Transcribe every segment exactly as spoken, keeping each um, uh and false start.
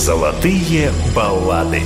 Золотые баллады.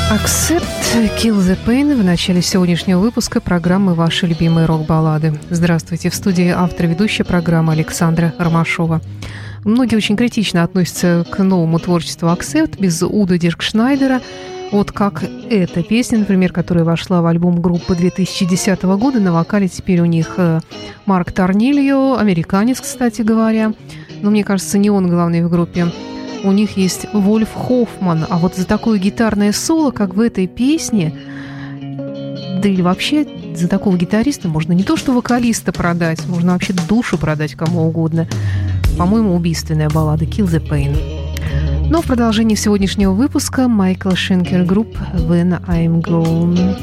Accept, Kill the Pain в начале сегодняшнего выпуска программы «Ваши любимые рок-баллады». Здравствуйте, в студии автор ведущая программы Александра Ромашова. Многие очень критично относятся к новому творчеству Accept без Удо Диркшнайдера. Вот как эта песня, например, которая вошла в альбом группы две тысячи десятого года. На вокале теперь у них Марк Торнильо, американец, кстати говоря. Но мне кажется, не он главный в группе. У них есть Вольф Хоффман. А вот за такое гитарное соло, как в этой песне, да или вообще за такого гитариста можно не то что вокалиста продать, можно вообще душу продать кому угодно. По-моему, убийственная баллада «Kill the Pain». Но в продолжении сегодняшнего выпуска Майкл Шенкер Групп «When I'm Gone».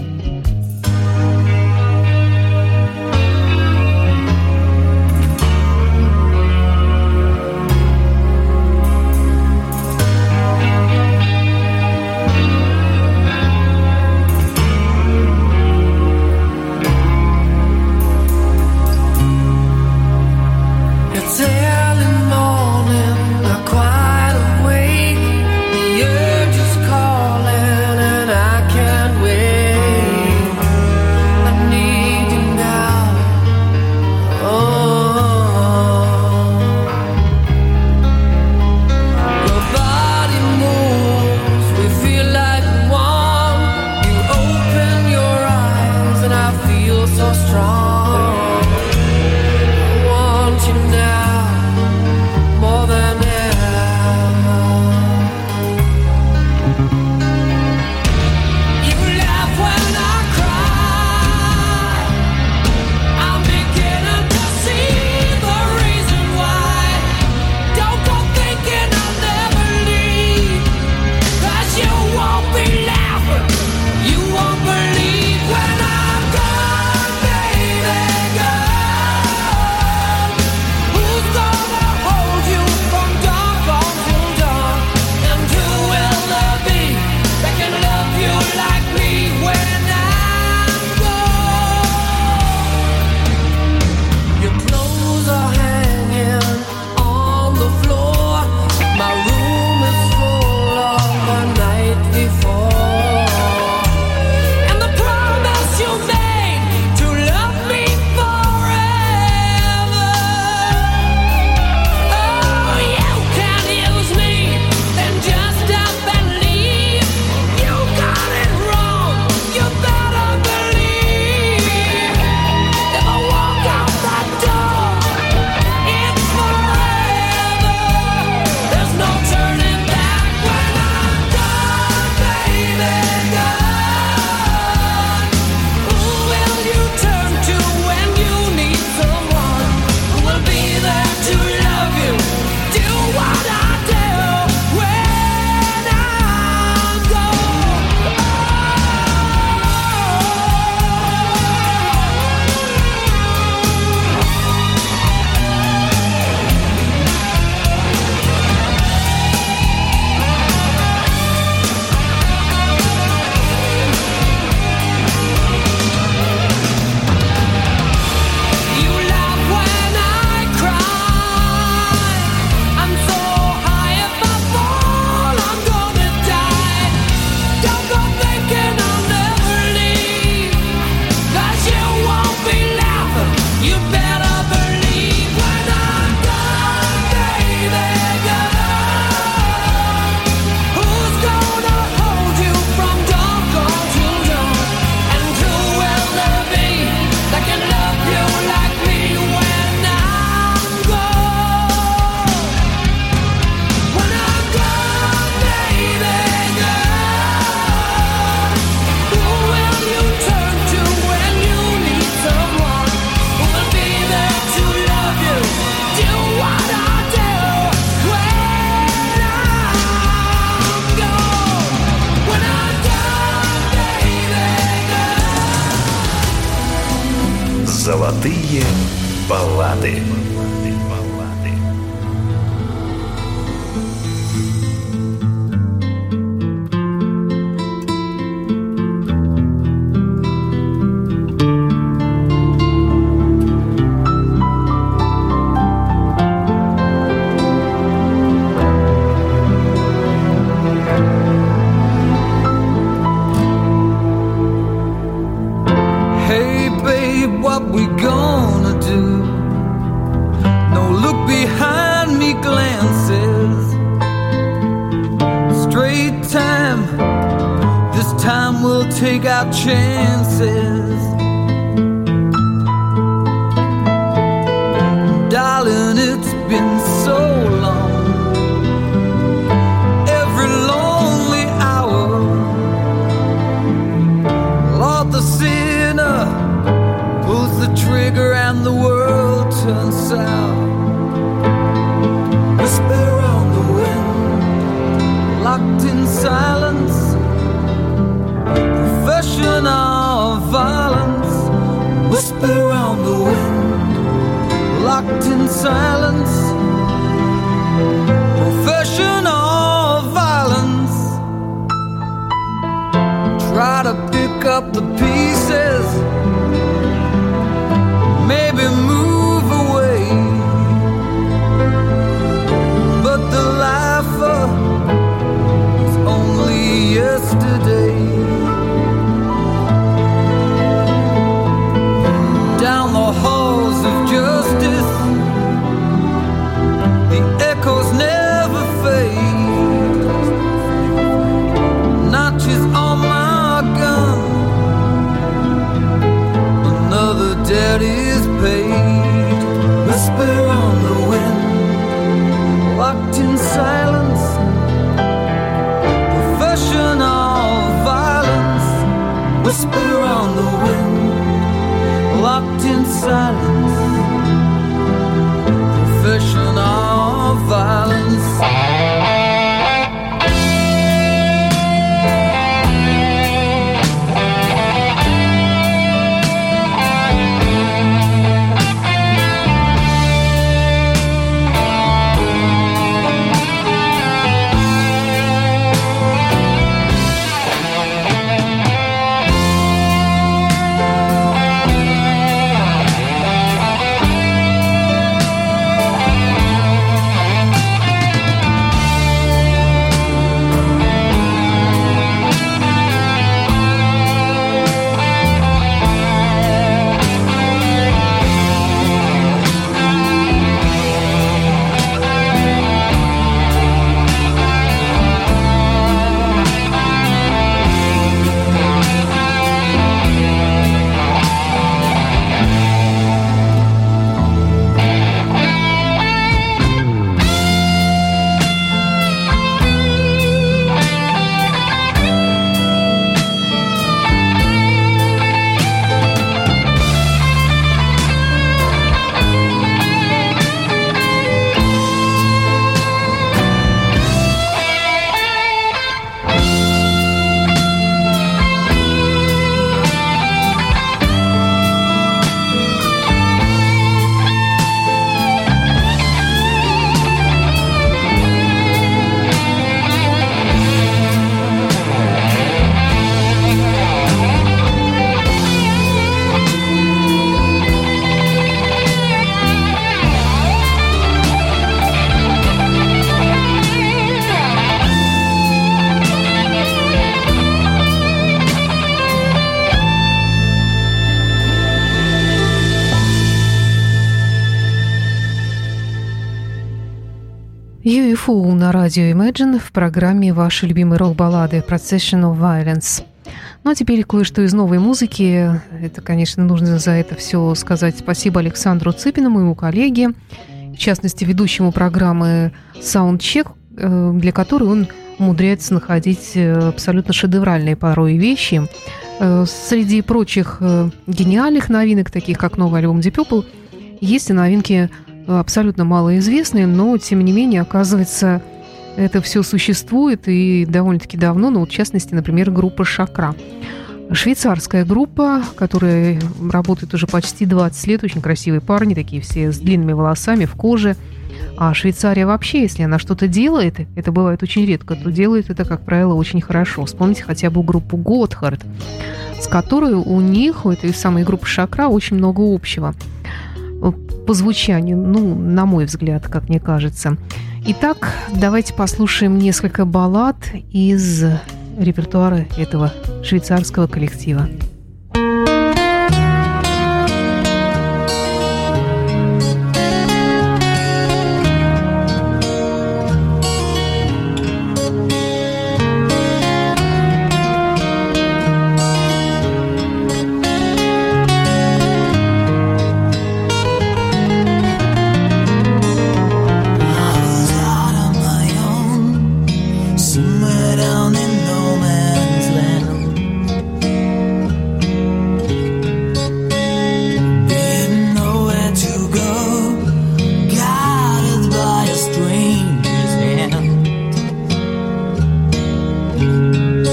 Золотые баллады. babe, what we gonna do? No look behind me glances. Straight time, this time we'll take our chances. Darling, it's been so long. Every lonely hour, Lord, the sinner pulls the trigger and the world turns sour. Whisper on the wind, locked in silence. Professional violence. Whisper on the wind, locked in silence. Professional violence. Try to pick up the pieces, maybe move away, but the lifer is only yesterday. Down the halls of justice, the echoes never fade. Notches on my gun, another debt is paid. Whisper on the wind, locked in silence. Professional violence. Whisper on the wind, locked in silence. Professional violence. ю эф о на радио Imagine в программе «Ваши любимые рок-баллады» «Procession of Violence». Ну а теперь кое-что из новой музыки. Это, конечно, нужно за это все сказать спасибо Александру Цыпину, моему коллеге, в частности, ведущему программы «Саундчек», для которой он умудряется находить абсолютно шедевральные порой вещи. Среди прочих гениальных новинок, таких как новый альбом Deep Purple, есть и новинки абсолютно малоизвестные, но, тем не менее, оказывается, это все существует и довольно-таки давно, ну, в частности, например, группа «Шакра». Швейцарская группа, которая работает уже почти двадцать лет, очень красивые парни, такие все с длинными волосами, в коже. А Швейцария вообще, если она что-то делает, это бывает очень редко, то делает это, как правило, очень хорошо. Вспомните хотя бы группу «Готхард», с которой у них, у этой самой группы «Шакра», очень много общего по звучанию, ну, на мой взгляд, как мне кажется. Итак, давайте послушаем несколько баллад из репертуара этого швейцарского коллектива.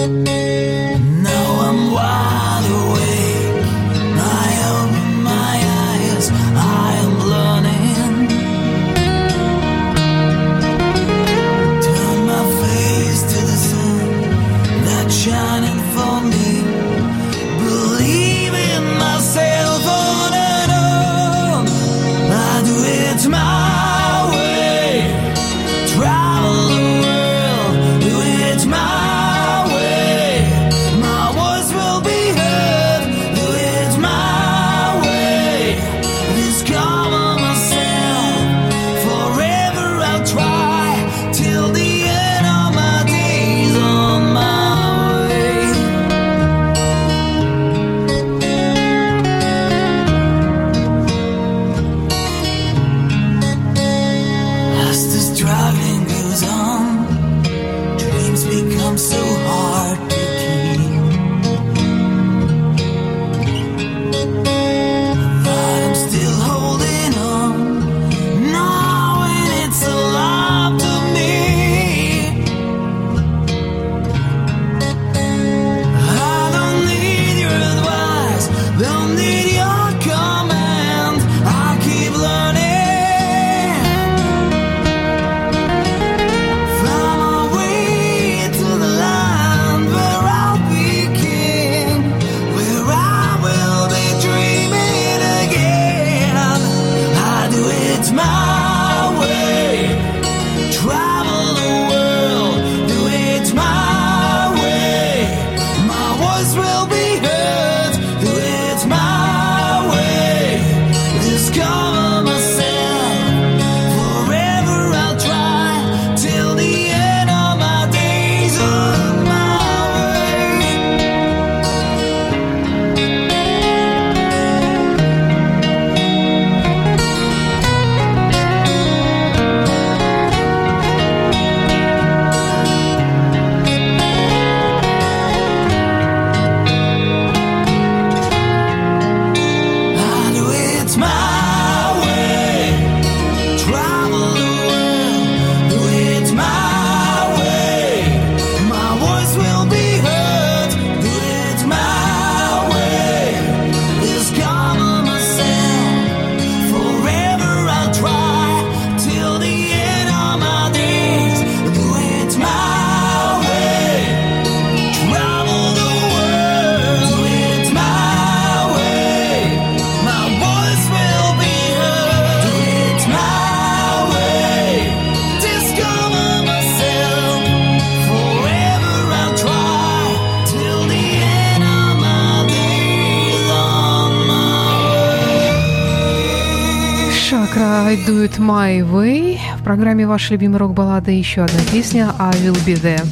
I Do It My Way. В программе «Ваши любимые рок-баллады» еще одна песня «I Will Be There».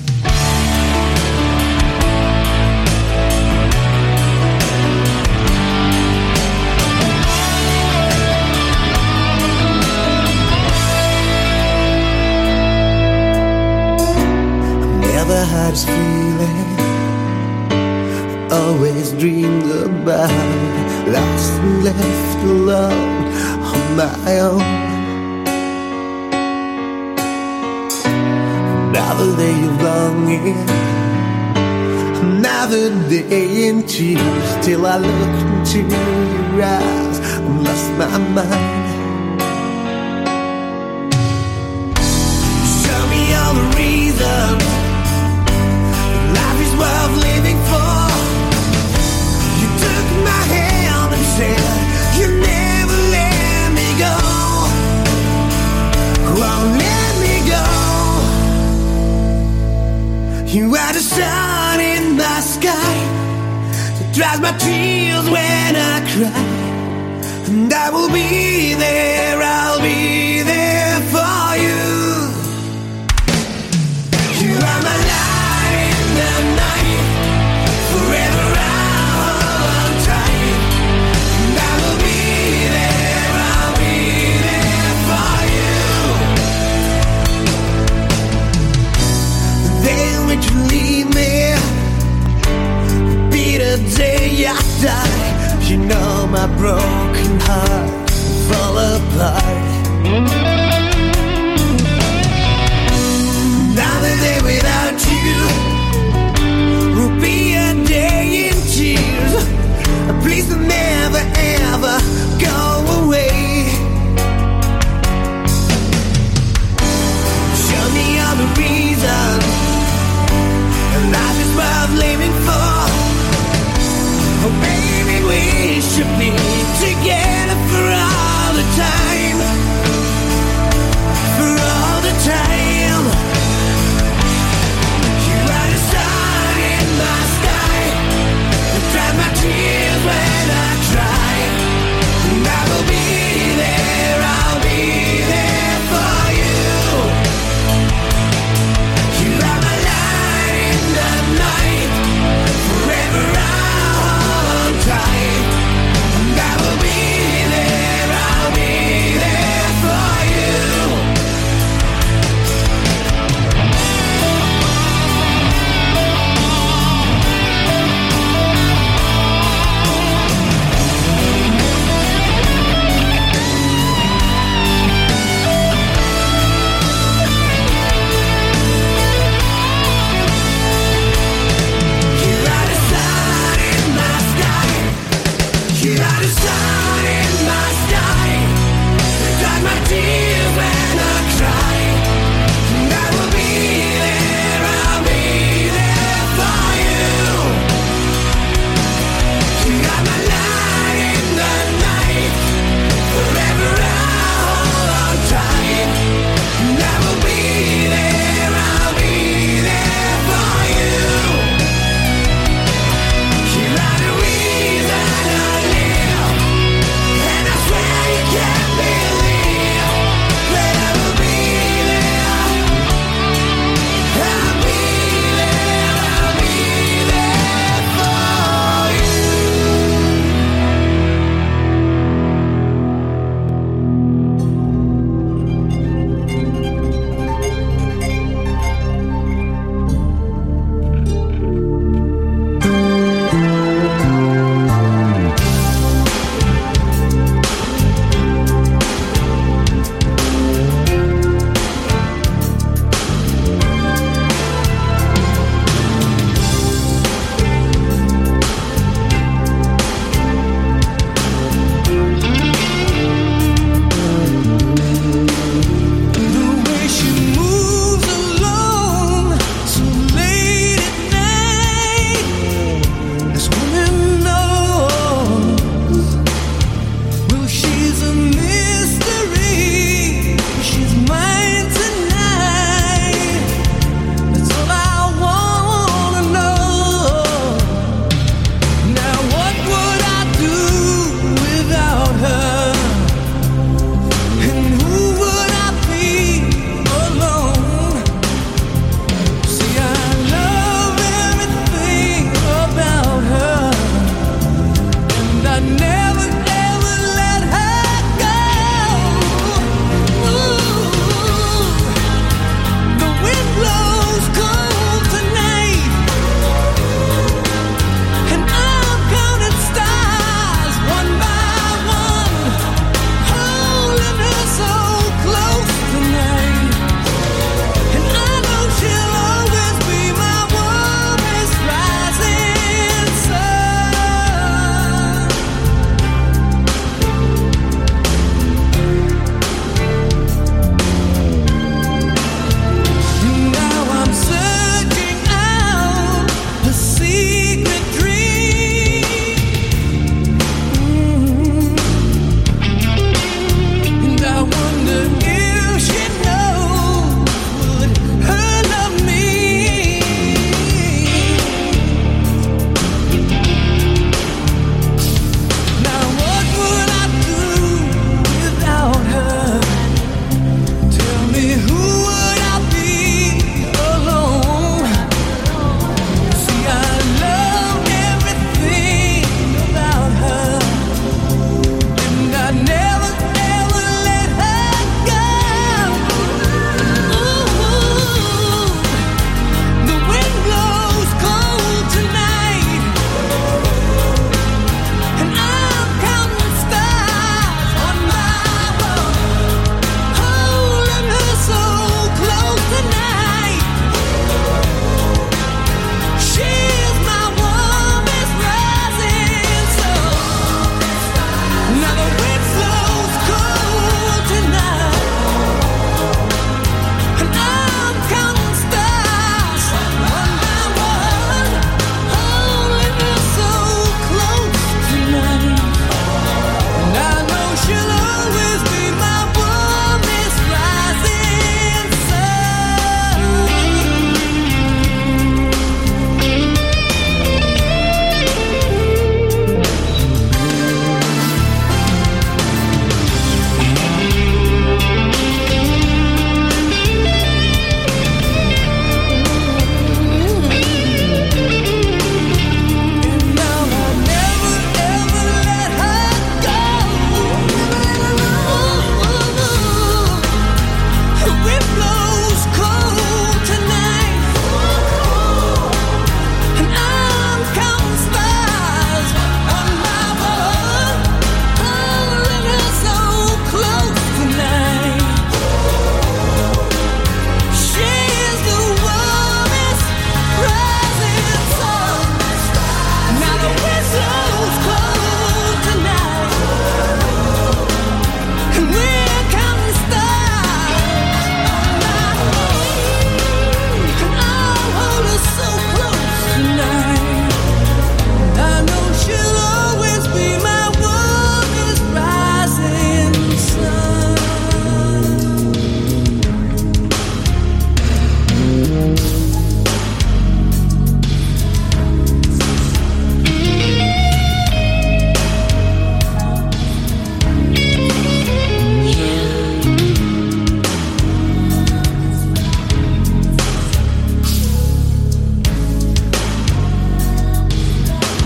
Never had this feeling, always dreamed about it, lost and left alone on my own. Another day of longing, another day in tears, till I looked into your eyes and lost my mind. Show me all the reasons life is worth living for. You took my hand and said you never let me go. Won't let me go. You are the sun in the sky that dries my tears when I cry. And I will be there, I'll be there for you. You are my light in the night, forever I'll hold on tight. And I will be there, I'll be there for you. The day in which you leave me will be the day I die. You know my broken heart will fall apart. Another day without you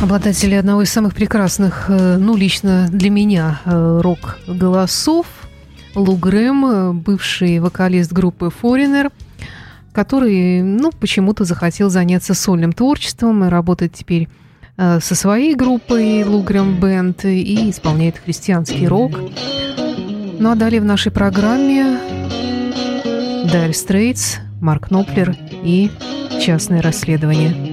Обладатели одного из самых прекрасных, ну, лично для меня, рок-голосов, Лу Грэм, бывший вокалист группы Foreigner, который, ну, почему-то захотел заняться сольным творчеством и работать теперь со своей группой Лу Грэм Бэнд и исполняет христианский рок. Ну, а далее в нашей программе Dire Straits, Марк Knopfler и «Частное расследование».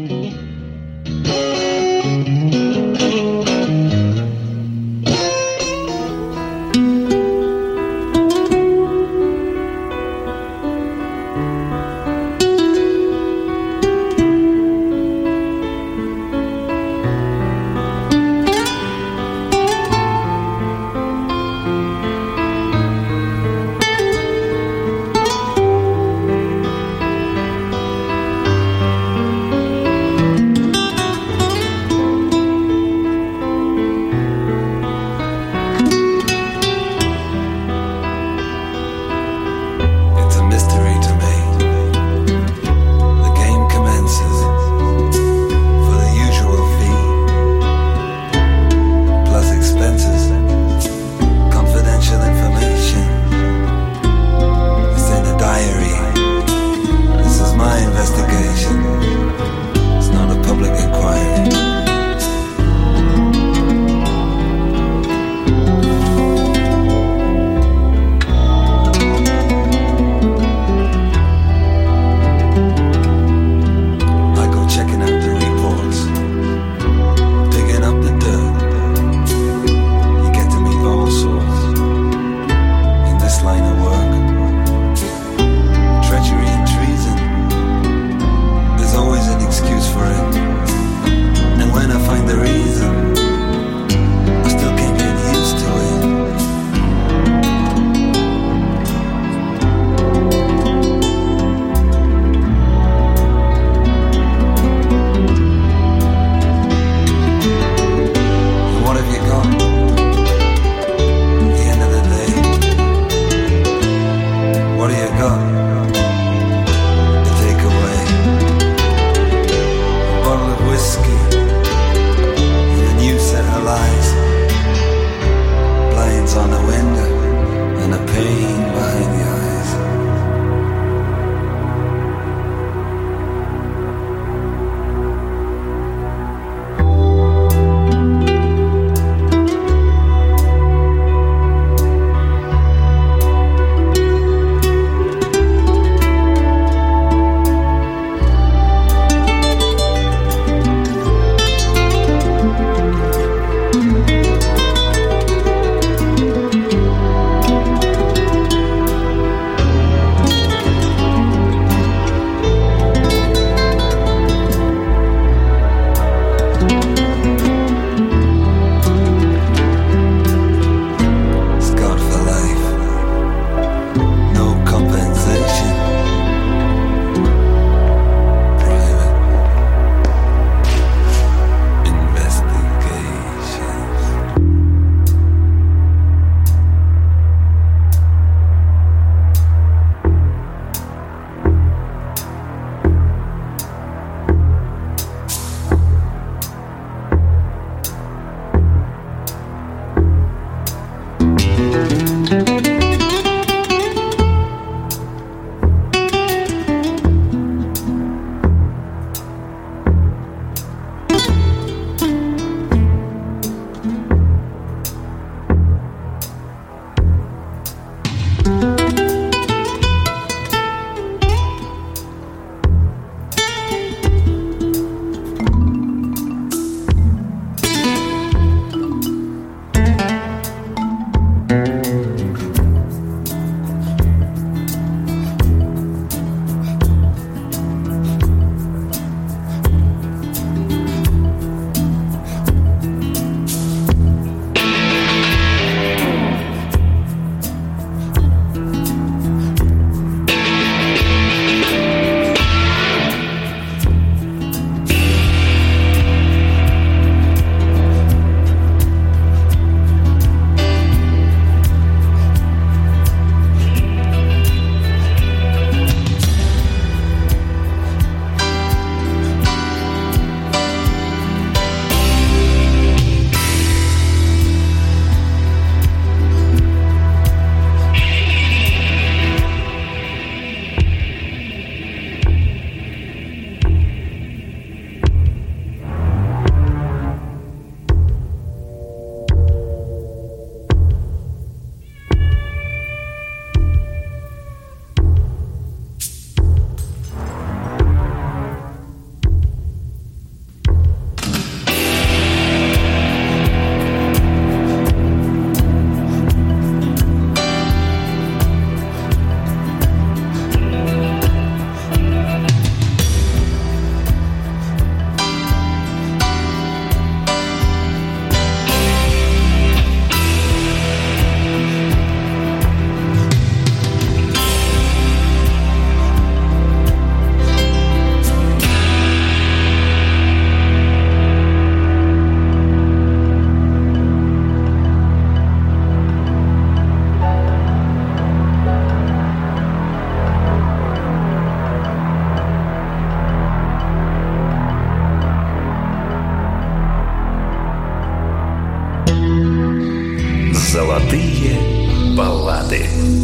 Золотые баллады.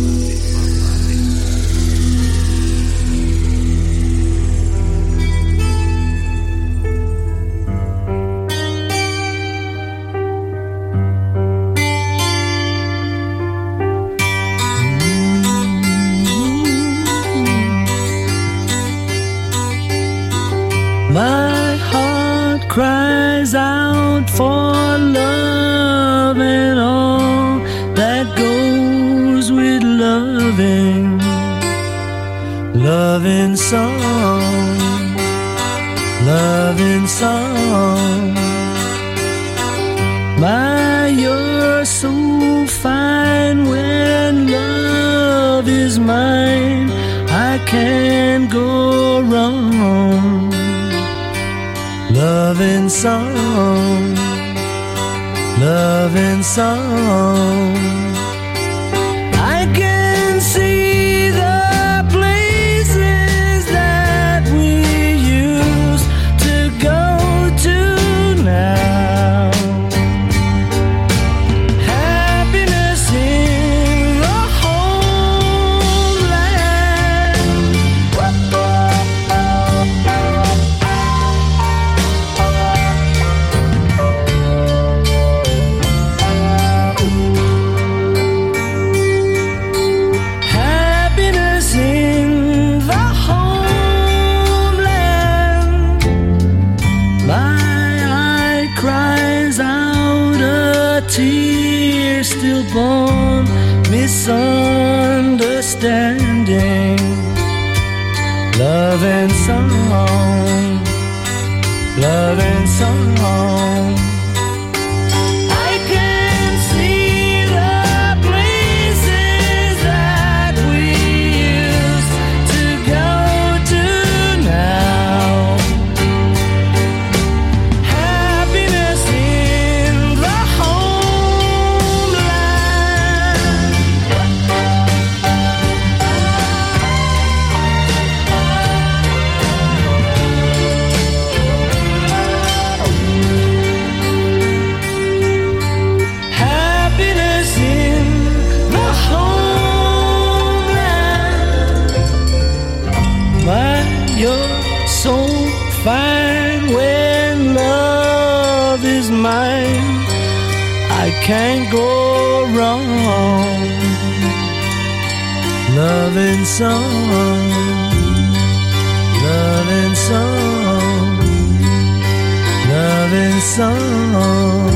My heart cries out for love and all that goes with loving. Loving song, loving song. My, you're so fine when love is mine. I can't go wrong. Loving song, loving song. I can see the places that we used to go to now. Happiness in the homeland. Tear stillborn misunderstanding. Love and song, love and song. I can see the places that we used to go to now. Happiness in the so fine when love is mine. I can't go wrong. Love and song, love and song, love and song.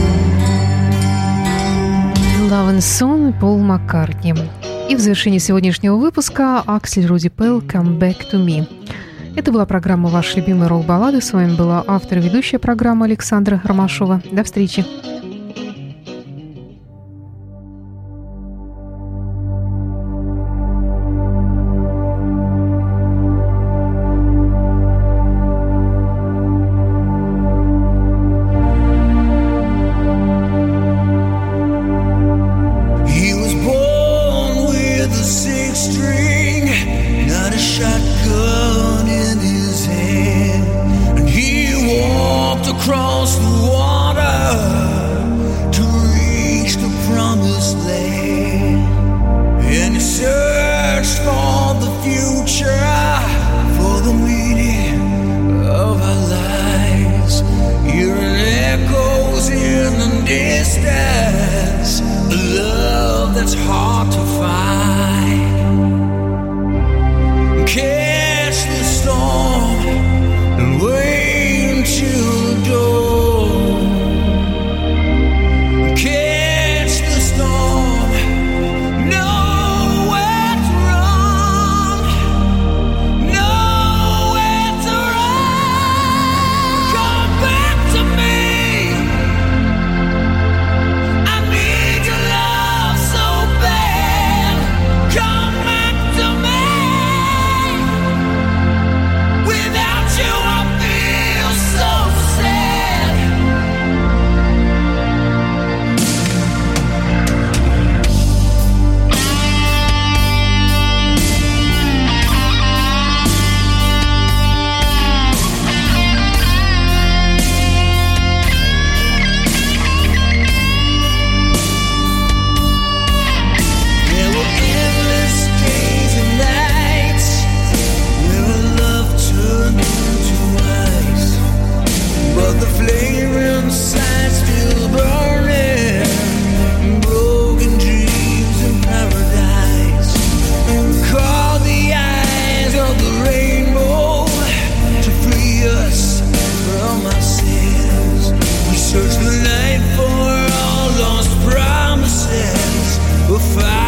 Love and Song, Пол Маккартни. И в завершении сегодняшнего выпуска Аксель Руди Пell «Come Back to Me». Это была программа «Ваши любимые рок-баллады». С вами была автор и ведущая программы Александра Ромашова. До встречи. Search the night for all lost promises. We'll find